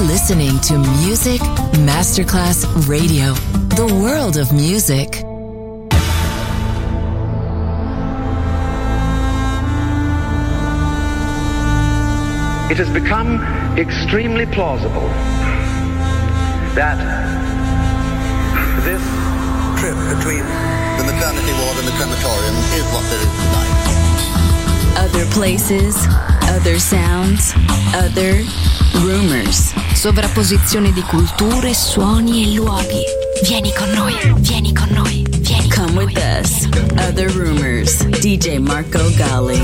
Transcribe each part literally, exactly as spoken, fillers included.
You're listening to Music Masterclass Radio, the world of music. It has become extremely plausible that this trip between the maternity ward and the crematorium is what there is tonight. Other places, other sounds, other rumors. Sovrapposizione di culture, suoni e luoghi. Vieni con noi, vieni con noi, vieni con Come noi. with us. Other rumors. D J Marco Gally.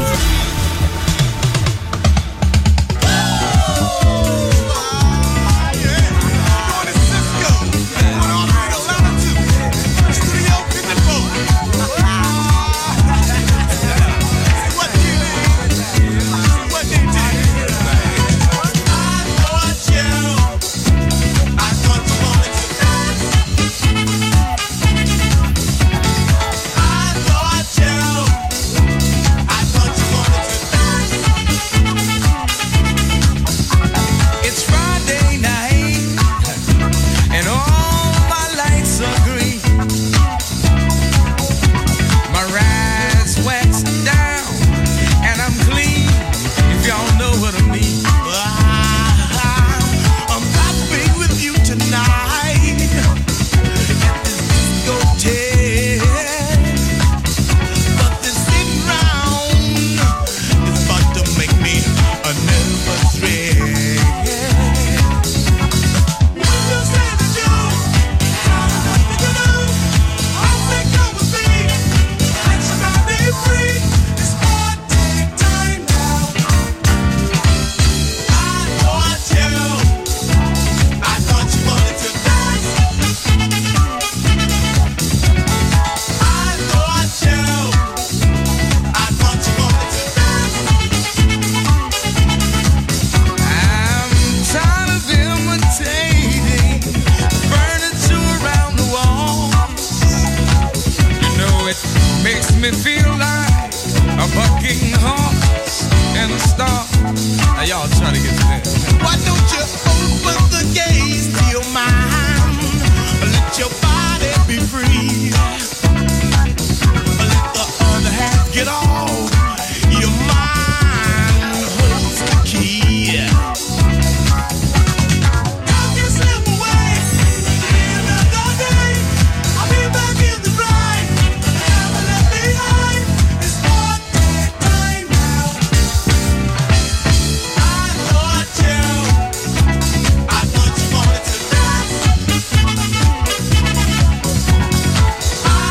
I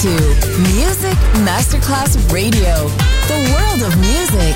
to Music Masterclass Radio, the world of music.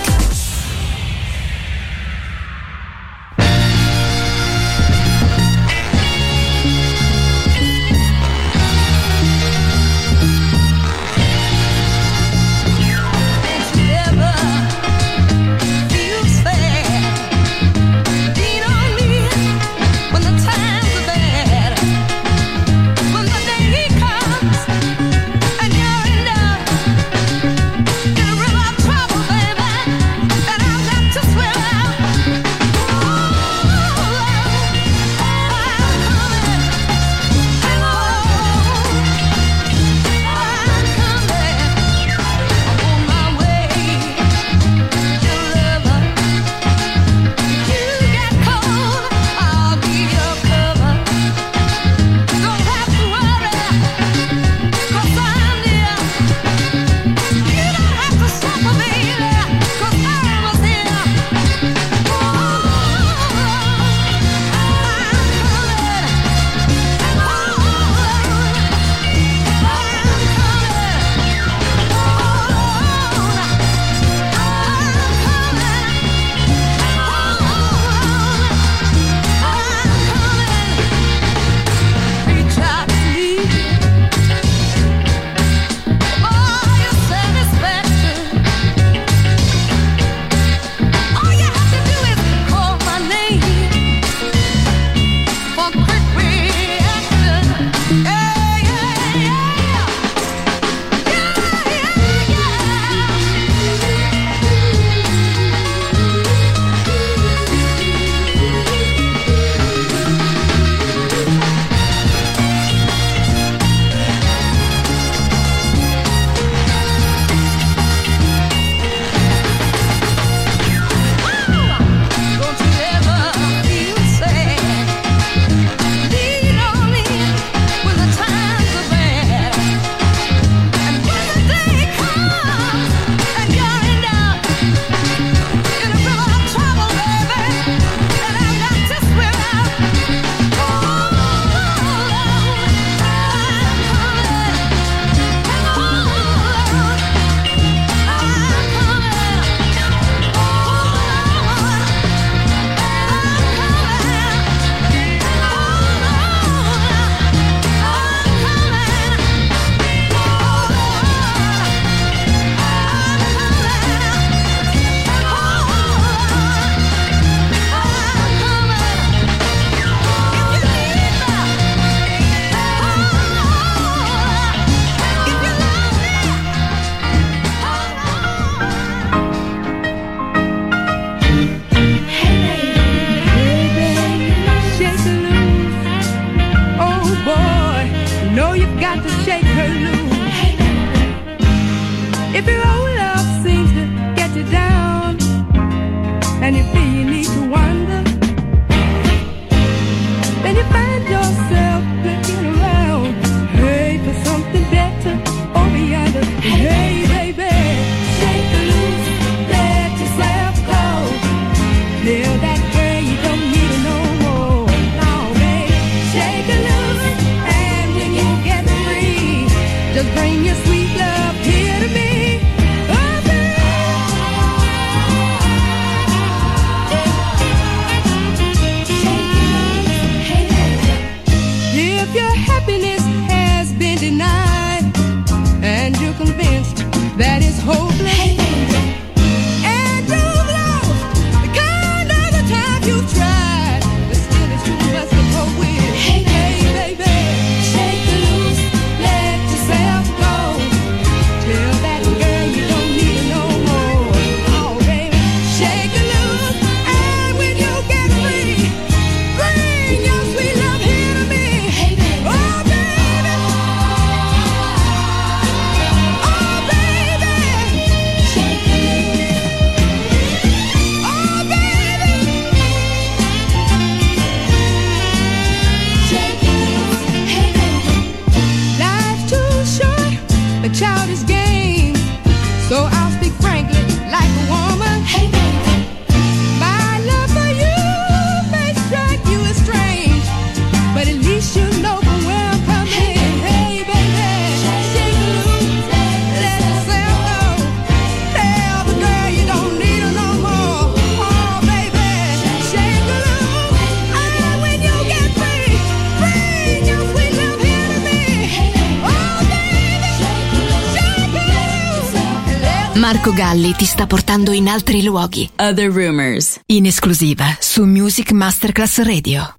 Hey baby, shake it loose, let yourself go. Marco Galli ti sta portando in altri luoghi. Other Rumors. In esclusiva su Music Masterclass Radio.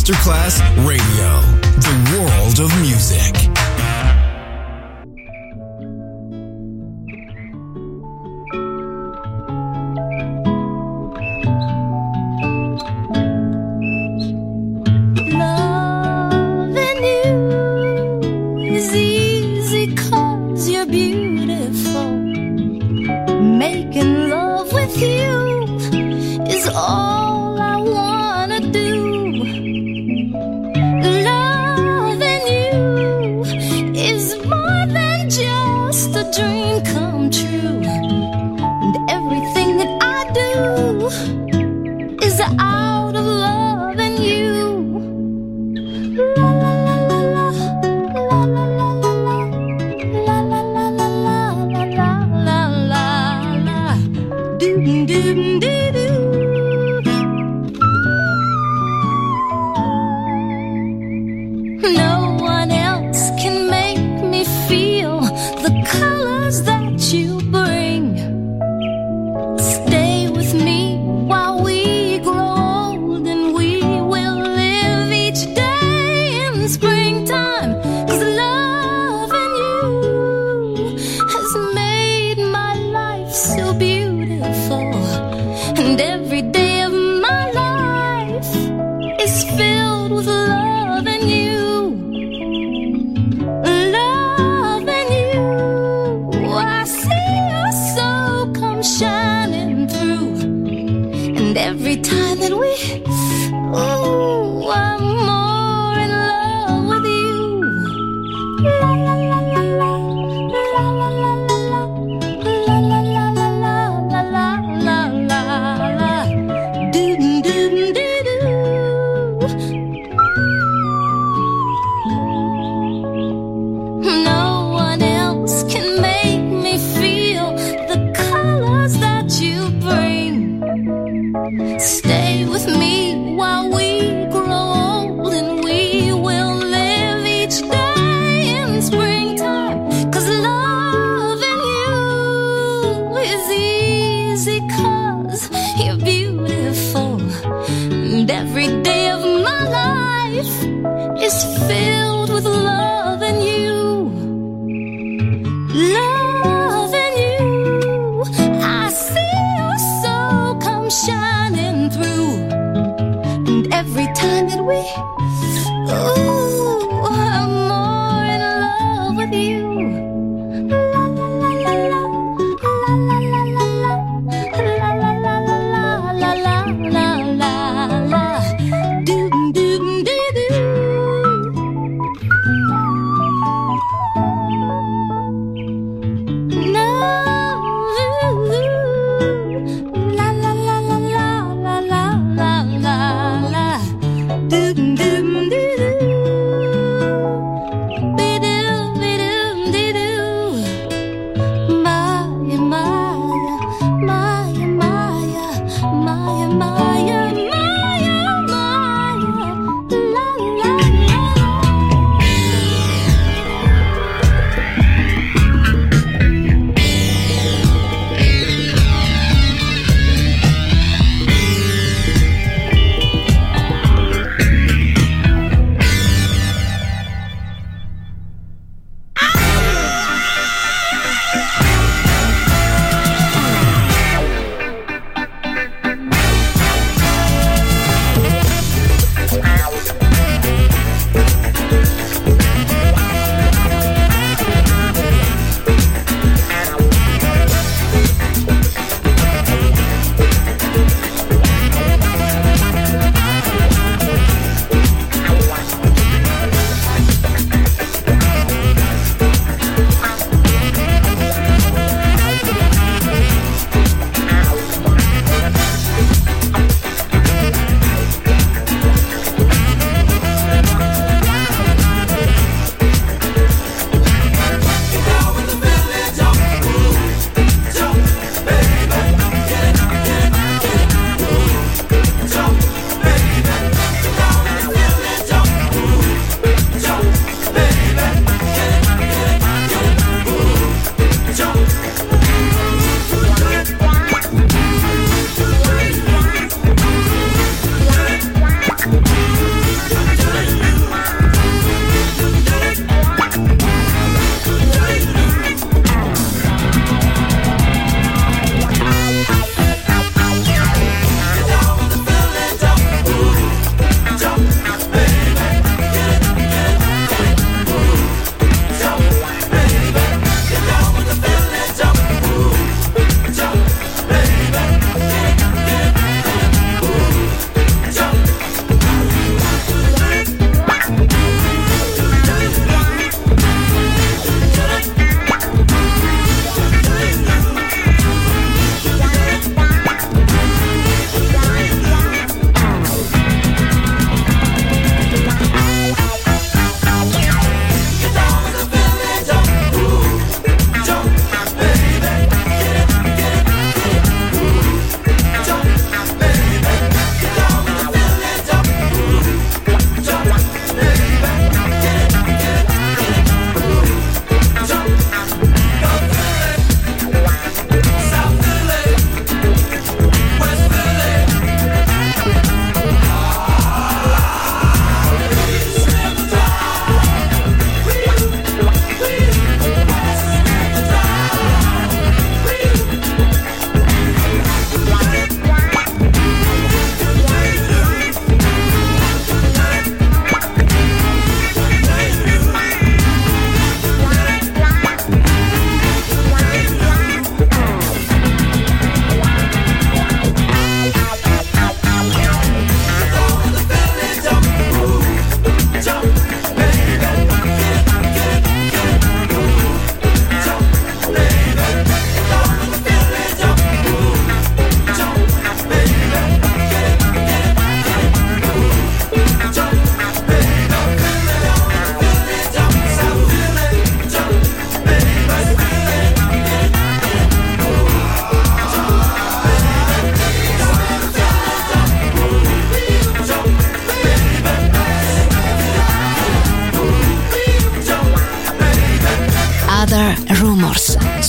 Masterclass Radio, the world of music. La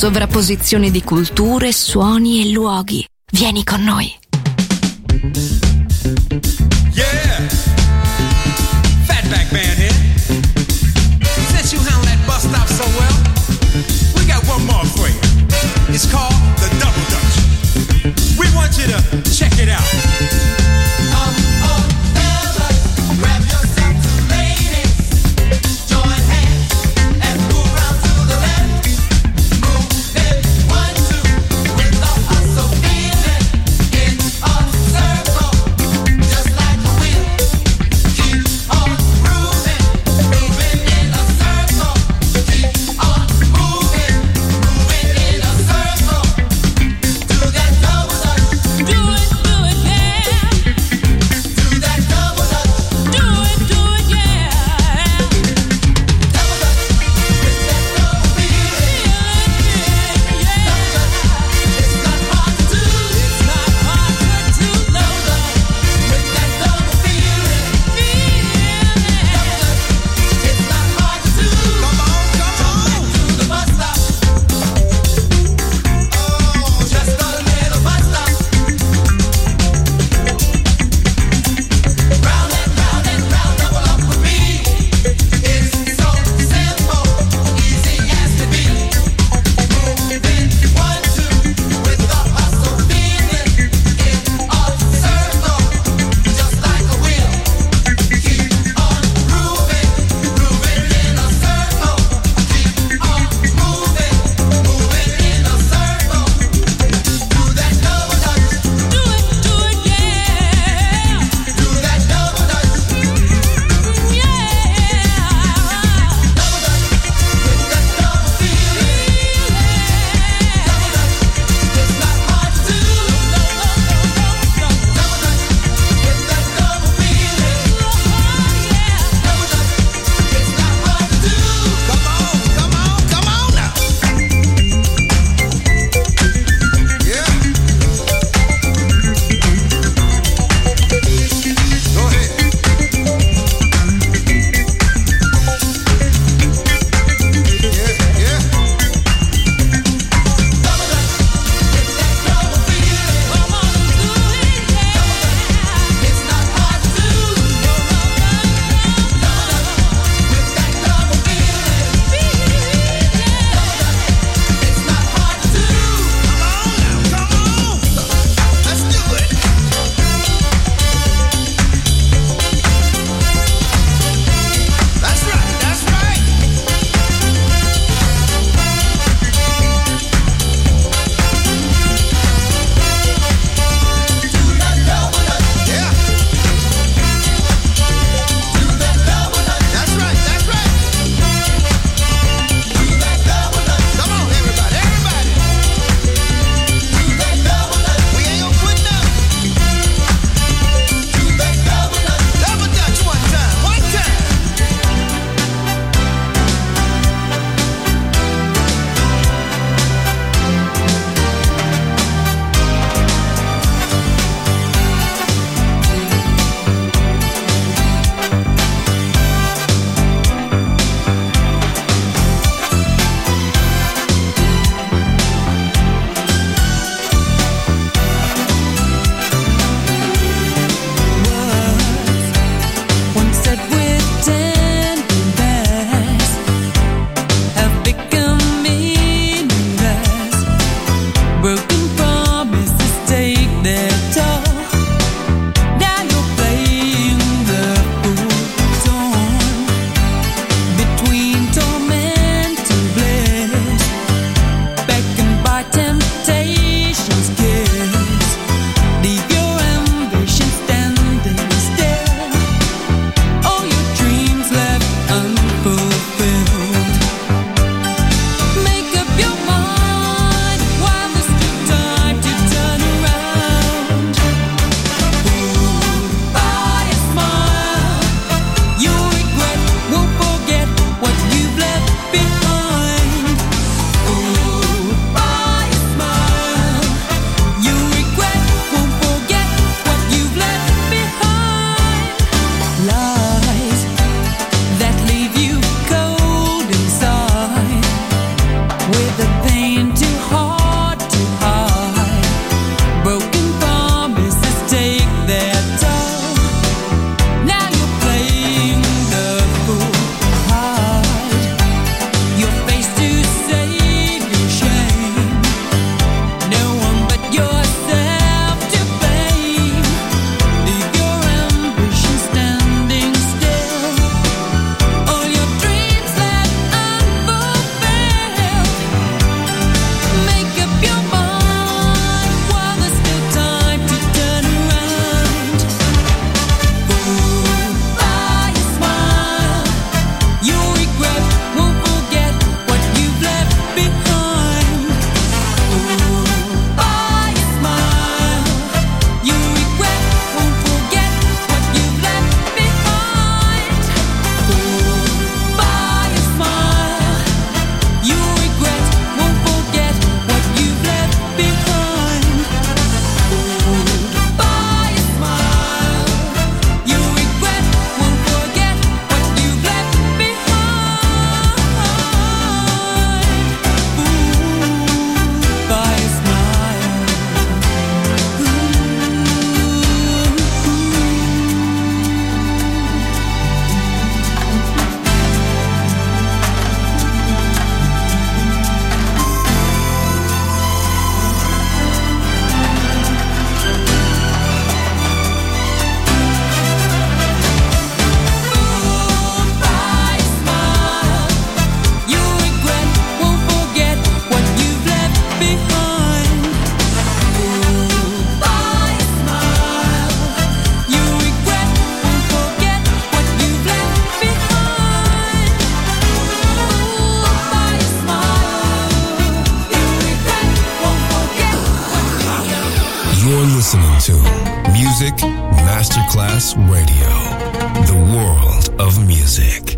sovrapposizione di culture, suoni e luoghi. Vieni con noi. Yeah, Fatback Band here. Since you handle that bus stop so well, we got one more for you. It's called the Double Dutch. We want you to check it out. Come on, fellas, grab yourself two ladies, join hands and move round to the left. Move it one, two, with the hustle feeling in a circle, just like a wheel. Keep on grooving, moving in a circle. Keep on moving, moving in a circle. You're listening to Music Masterclass Radio, the world of music.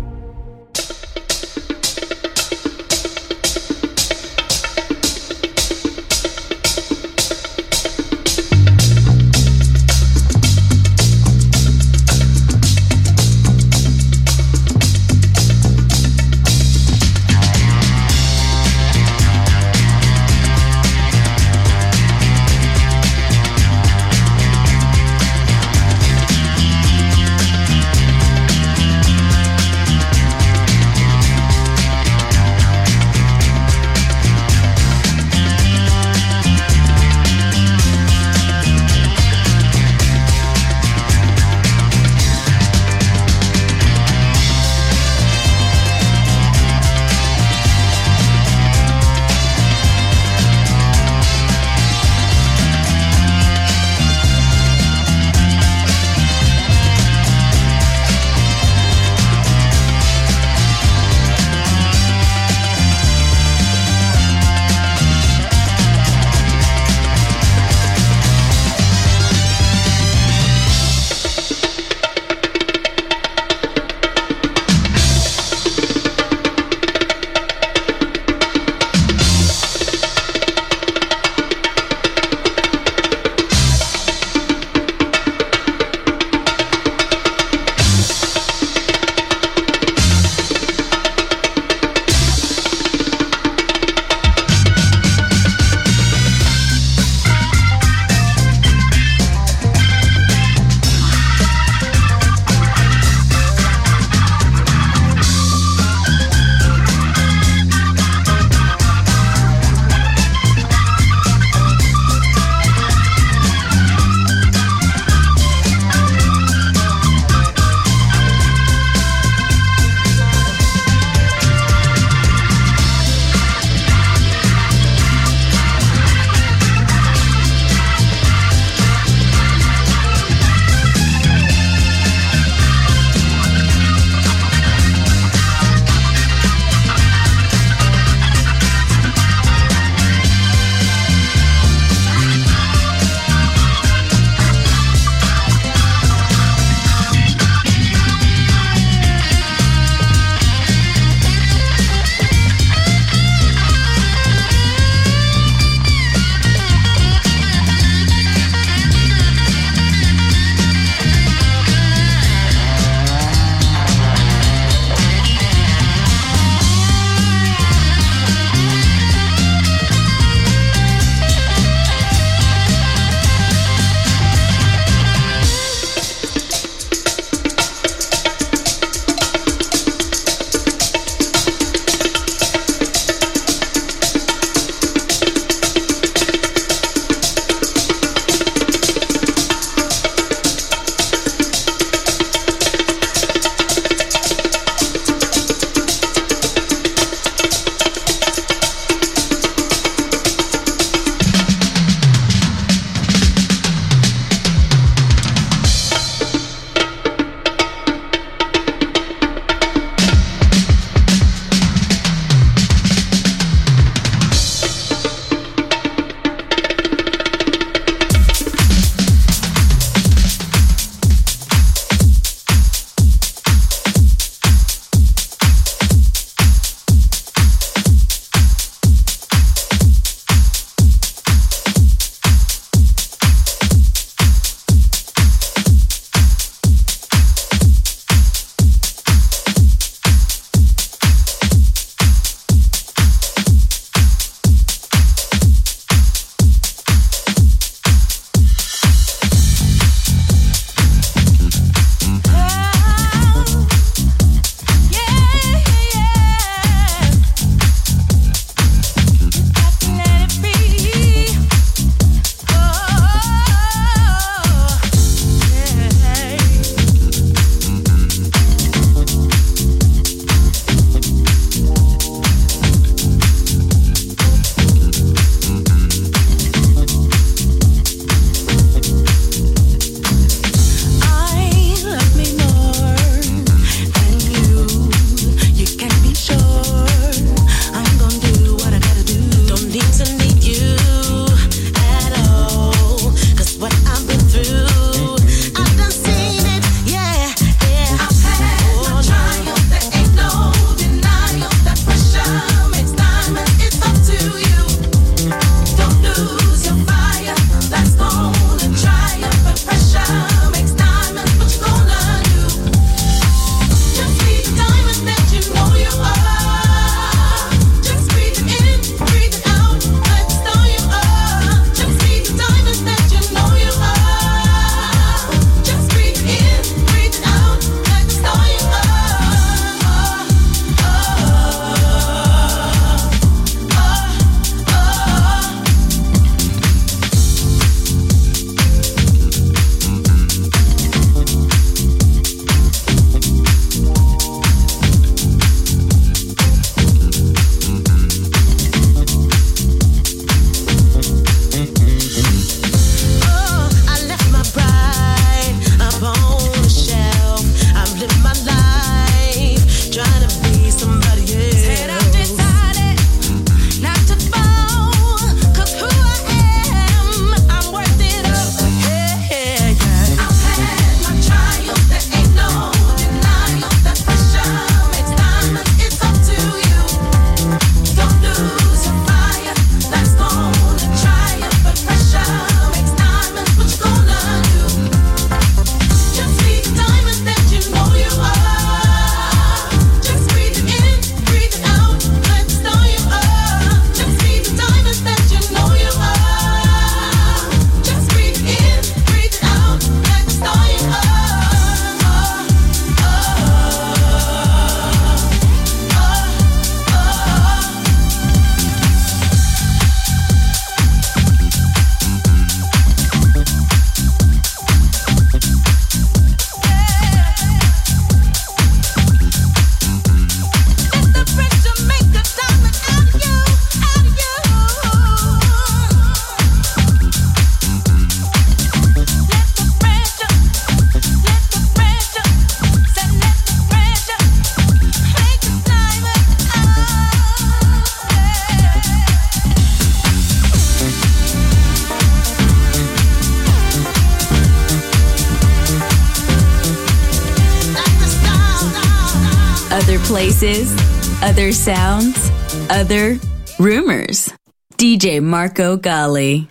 Other places, other sounds, other rumors. D J Marco Gally.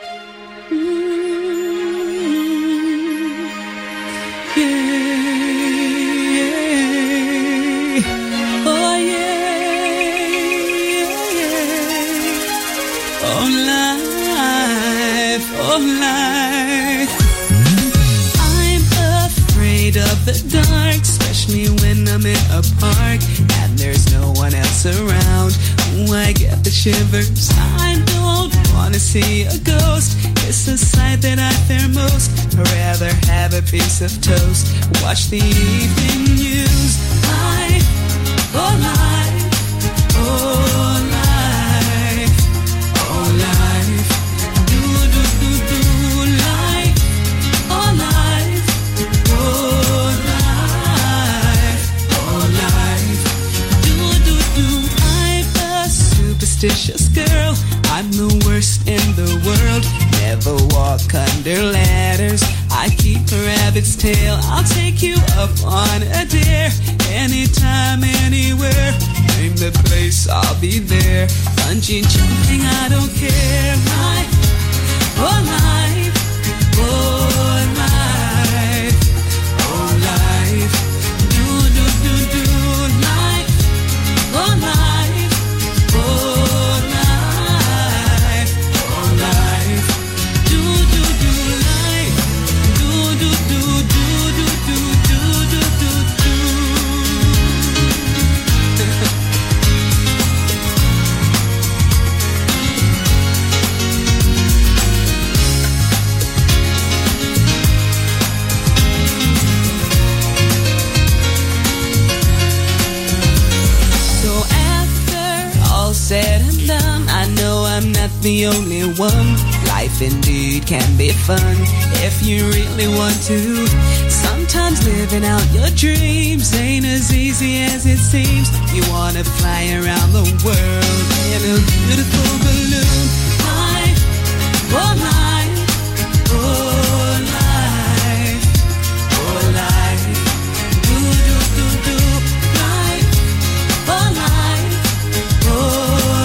The dark, especially when I'm in a park and there's no one else around. Ooh, I get the shivers. I don't wanna see a ghost. It's the sight that I fear most. I'd rather have a piece of toast. Watch the evening news. Life, oh life, oh life, oh life. Do do do do life, oh life, oh. Superstitious girl, I'm the worst in the world. Never walk under ladders. I keep a rabbit's tail. I'll take you up on a dare. Anytime, anywhere. Name the place, I'll be there. Bungee jumping, I don't care. Life, oh life, oh life, oh life. Do do do do life, oh life, oh. Said and done, I know I'm not the only one. Life indeed can be fun if you really want to. Sometimes living out your dreams ain't as easy as it seems. You wanna fly around the world in a beautiful balloon. Life, oh life, oh life, oh life. Do do do do life, oh life, oh.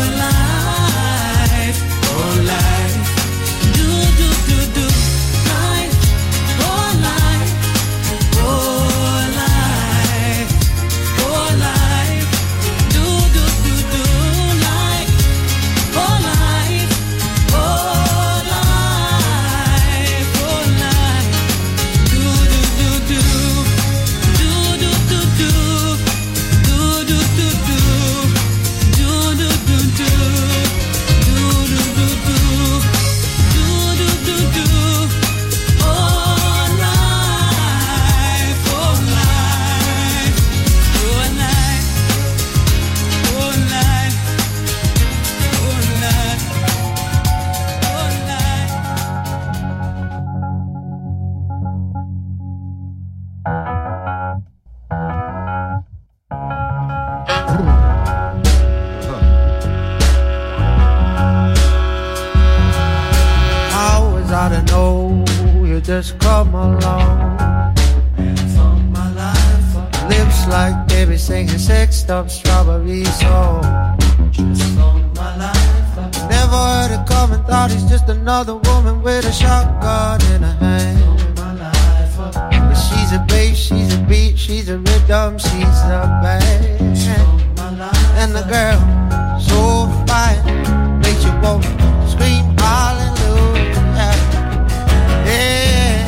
Just come along. My life, lips like baby singing sexed up strawberry song. My life, never heard it coming, thought he's just another woman with a shotgun in her hand. But she's a bass, she's a beat, she's a rhythm, she's a band. And the girl, so fine, makes you want to scream hallelujah. Yeah.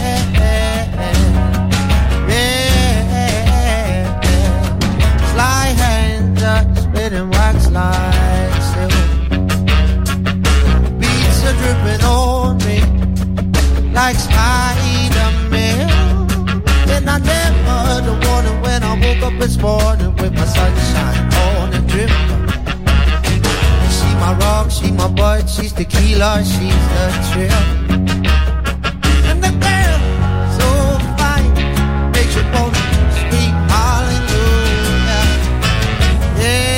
Spinning wax like silk. Beats are dripping on me like Spider-Man. And I never the warning when I woke up this morning with my sunshine on and dripping. She my rock, she my butt, she's tequila, she's the trip. And the girl so fine makes you wanna speak hallelujah. Yeah.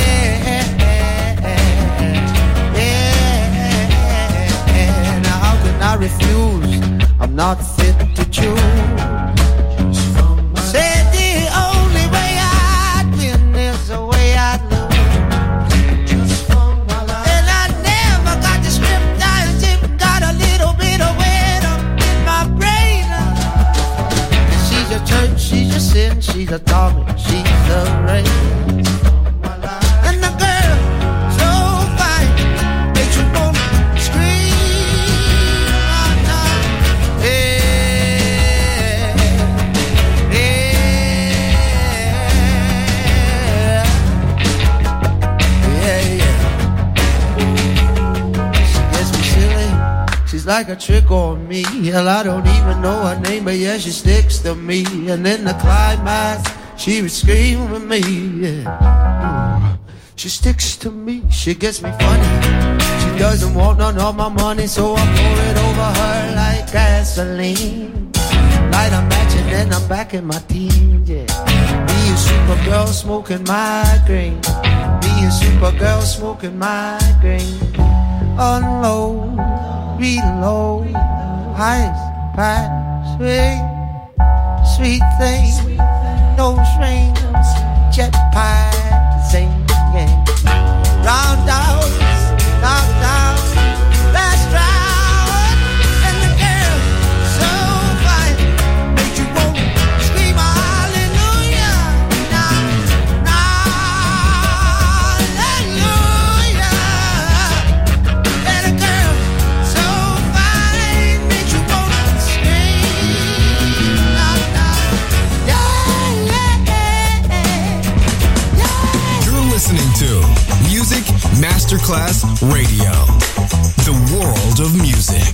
I refuse, I'm not fit to choose. Said the only way I'd win is and she's a Tommy, she's a Ray. And the girl so fine makes you wanna scream out loud. Yeah, yeah, yeah, yeah. She gets me silly. She's like a trick on me. Hell, I don't even know her name, but yeah, she sticks to me. And in the climax, she would scream with me. Yeah. She sticks to me. She gets me funny. She doesn't want none of my money, so I pour it over her like gasoline. Light a match and then I'm back in my teens. Yeah. Me a Supergirl smoking migraine. Me a Supergirl smoking migraine. Unload. Reload, highs, high, sweet, sweet thing, no strings, jetpack, sing, yeah. Roundhouse, knockdown, last round, and the girl so fine, make you want to scream hallelujah, now, now, hallelujah, and the girl so fine, make you want to scream out loud, yeah, yeah, yeah. You're listening to Music Masterclass Radio, the world of music.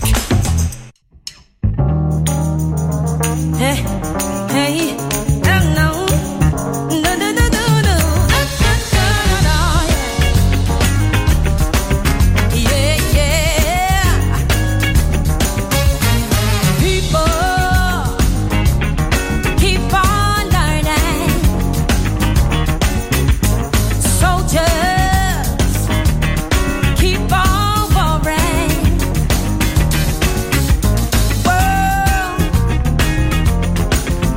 Hey, hey, no, no, no, no, no, no, no, no, yeah, yeah. People keep on learning. Soldiers keep on warring. World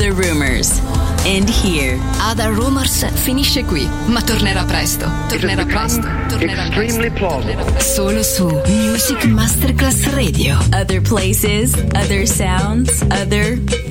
Other Rumors. And here. Other Rumors finisce qui, ma tornerà presto. Tornerà presto. Tornerà presto. Tornerà presto. Solo su Music Masterclass Radio. Other places, other sounds, other